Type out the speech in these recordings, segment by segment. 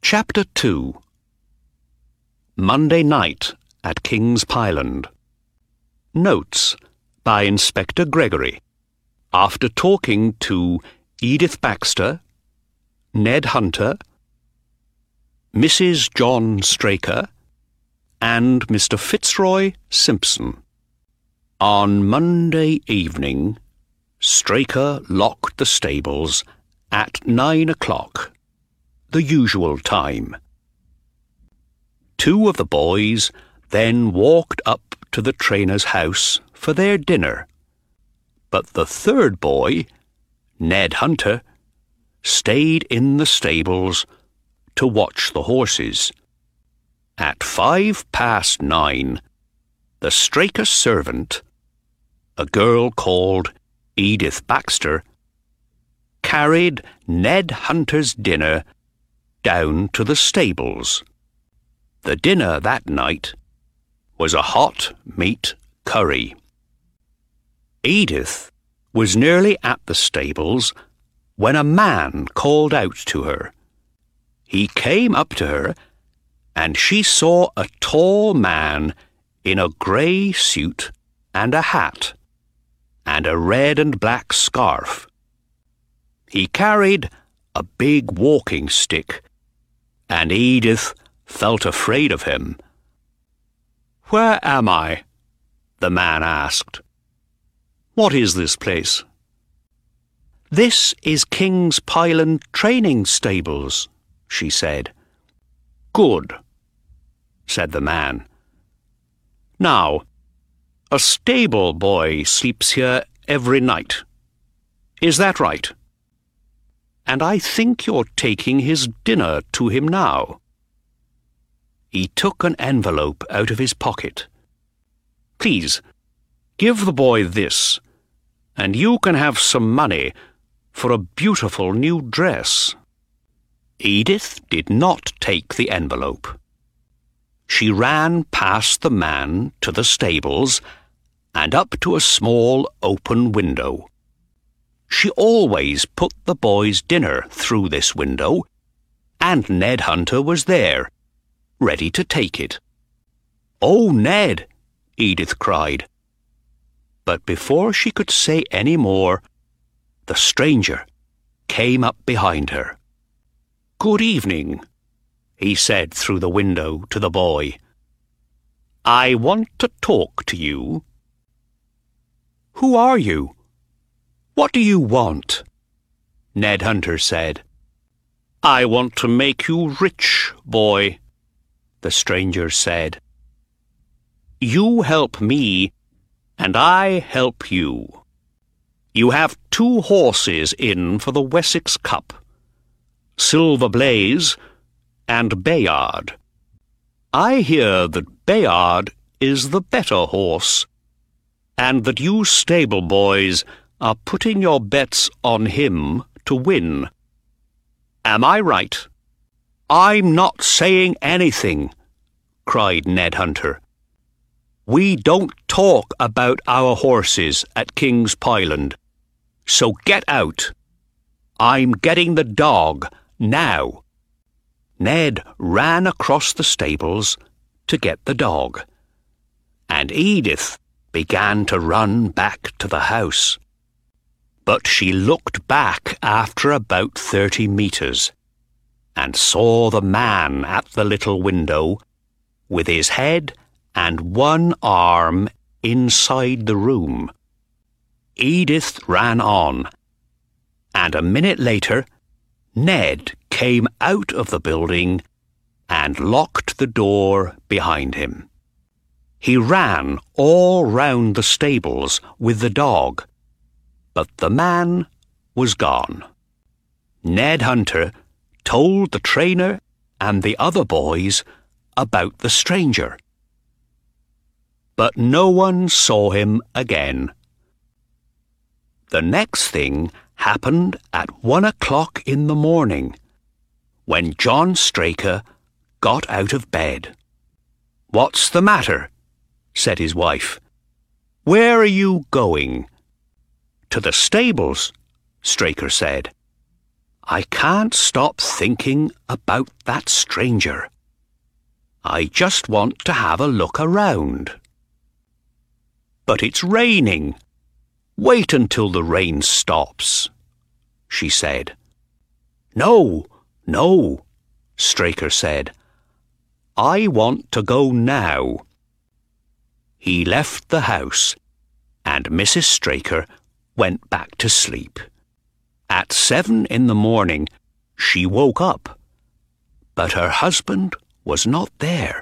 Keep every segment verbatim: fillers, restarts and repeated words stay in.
Chapter two. Monday Night at King's Pyland. Notes by Inspector Gregory. After talking to Edith Baxter, Ned Hunter, Missus John Straker, and Mister Fitzroy Simpson. On Monday evening, Straker locked the stables at nine o'clock, the usual time. Two of the boys then walked up to the trainer's house for their dinner, but the third boy, Ned Hunter, stayed in the stables to watch the horses. At five past nine, the Straker servant, a girl called Edith Baxter, carried Ned Hunter's dinner down to the stables. The dinner that night was a hot meat curry. Edith was nearly at the stables when a man called out to her. He came up to her, and she saw a tall man in a grey suit and a hat, and a red and black scarf. He carried a big walking stick, and Edith felt afraid of him. "Where am I?" the man asked. "What is this place?" "This is King's Pyland training stables," she said. "Good," said the man. "Now, a stable boy sleeps here every night. Is that right? And I think you're taking his dinner to him now." He took an envelope out of his pocket. "Please, give the boy this, and you can have some money for a beautiful new dress." Edith did not take the envelope. She ran past the man to the stables and up to a small open window. She always put the boy's dinner through this window, and Ned Hunter was there, ready to take it. "Oh, Ned!" Edith cried. But before she could say any more, the stranger came up behind her. "Good evening," he said through the window to the boy. "I want to talk to you." "Who are you? What do you want?" Ned Hunter said. "I want to make you rich, boy," the stranger said. "You help me, and I help you. You have two horses in for the Wessex Cup, Silver Blaze and Bayard. I hear that Bayard is the better horse, and that you stable boys are putting your bets on him to win. Am I right?" "I'm not saying anything," cried Ned Hunter. "We don't talk about our horses at King's Pyland, so get out. I'm getting the dog now." Ned ran across the stables to get the dog, and Edith began to run back to the house. But she looked back after about thirty metres and saw the man at the little window with his head and one arm inside the room. Edith ran on, and a minute later Ned came out of the building and locked the door behind him. He ran all round the stables with the dog, but the man was gone. Ned Hunter told the trainer and the other boys about the stranger, but no one saw him again. The next thing happened at one o'clock in the morning, when John Straker got out of bed. "What's the matter?" said his wife. "Where are you going?" "To the stables," Straker said. I can't stop thinking about that stranger. I just want to have a look around. But it's raining. Wait until the rain stops, she said. No, no, Straker said. I want to go now. He left the house, and Missus Straker went back to sleep. At seven in the morning, she woke up, but her husband was not there.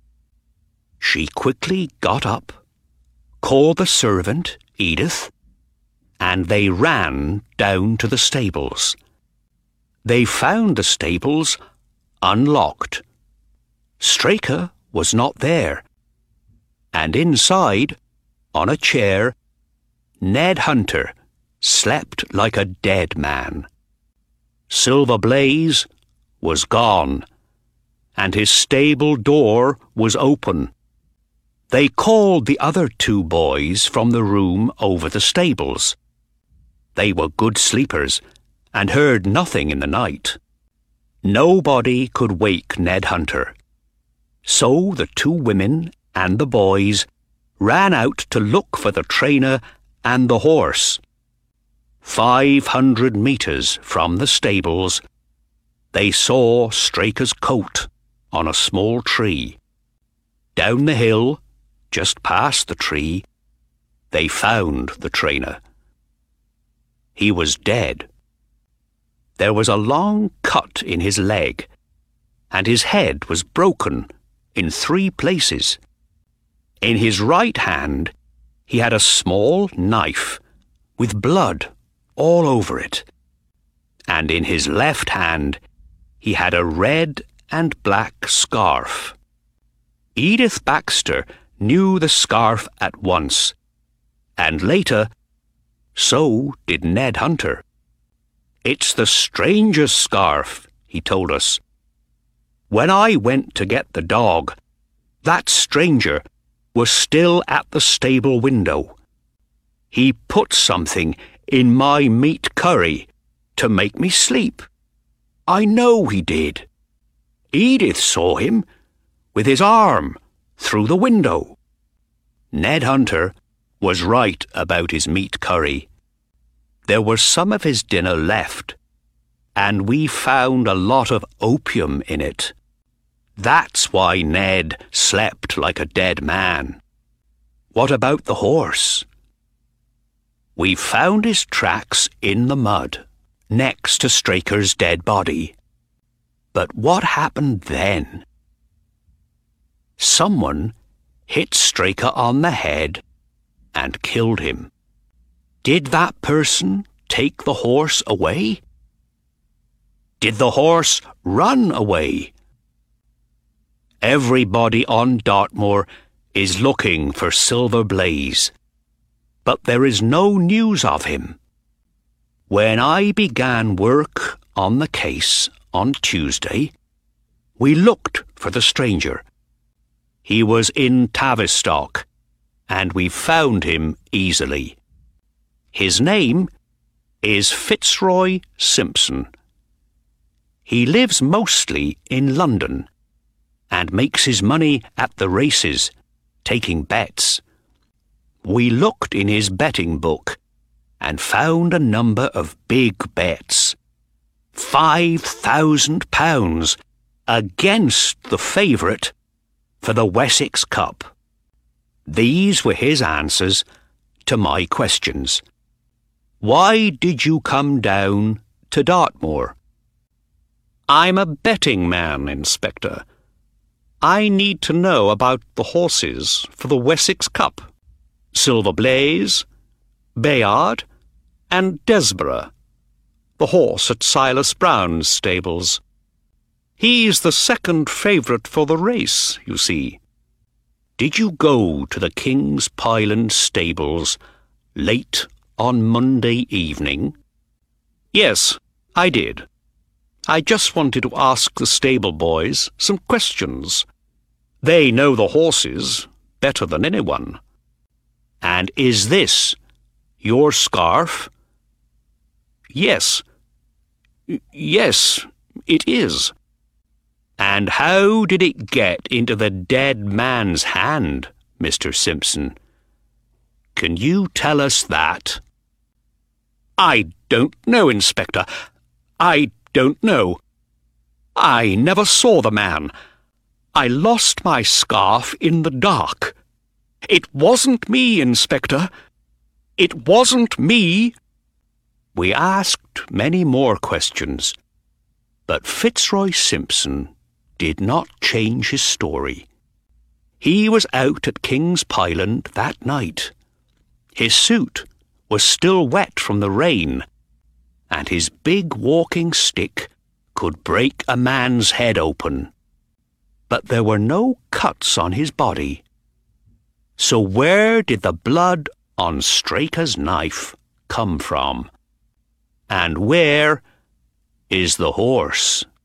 She quickly got up, called the servant, Edith, and they ran down to the stables. They found the stables unlocked. Straker was not there, and inside, on a chair, Ned Hunter slept like a dead man. Silver Blaze was gone, and his stable door was open. They called the other two boys from the room over the stables. They were good sleepers and heard nothing in the night. Nobody could wake Ned Hunter. So the two women and the boys ran out to look for the trainer and the horse. Five hundred metres from the stables, they saw Straker's coat on a small tree. Down the hill, just past the tree, they found the trainer. He was dead. There was a long cut in his leg, and his head was broken in three places. In his right hand, he had a small knife with blood all over it, and in his left hand, he had a red and black scarf. Edith Baxter knew the scarf at once, and later, so did Ned Hunter. It's the stranger's scarf, he told us. When I went to get the dog, that stranger was still at the stable window. He put something in my meat curry to make me sleep. I know he did. Edith saw him with his arm through the window. Ned Hunter was right about his meat curry. There was some of his dinner left, and we found a lot of opium in it. That's why Ned slept like a dead man. What about the horse? We found his tracks in the mud, next to Straker's dead body. But what happened then? Someone hit Straker on the head and killed him. Did that person take the horse away? Did the horse run away? Everybody on Dartmoor is looking for Silver Blaze, but there is no news of him. When I began work on the case on Tuesday, we looked for the stranger. He was in Tavistock, and we found him easily. His name is Fitzroy Simpson. He lives mostly in London and makes his money at the races, taking bets. We looked in his betting book and found a number of big bets. Five thousand pounds against the favourite for the Wessex Cup. These were his answers to my questions. Why did you come down to Dartmoor? I'm a betting man, Inspector. I need to know about the horses for the Wessex Cup. Silver Blaze, Bayard, and Desborough, the horse at Silas Brown's stables. He's the second favourite for the race, you see. Did you go to the King's Pyland stables late on Monday evening? Yes, I did. I just wanted to ask the stable boys some questions. They know the horses better than anyone. And is this your scarf? Yes. Yes, it is. And how did it get into the dead man's hand, Mister Simpson? Can you tell us that? I don't know, Inspector. I don't know. I never saw the man. I lost my scarf in the dark. It wasn't me, Inspector. It wasn't me. We asked many more questions, but Fitzroy Simpson did not change his story. He was out at King's Pyland that night. His suit was still wet from the rain, and his big walking stick could break a man's head open. But there were no cuts on his body. So where did the blood on Straker's knife come from? And where is the horse?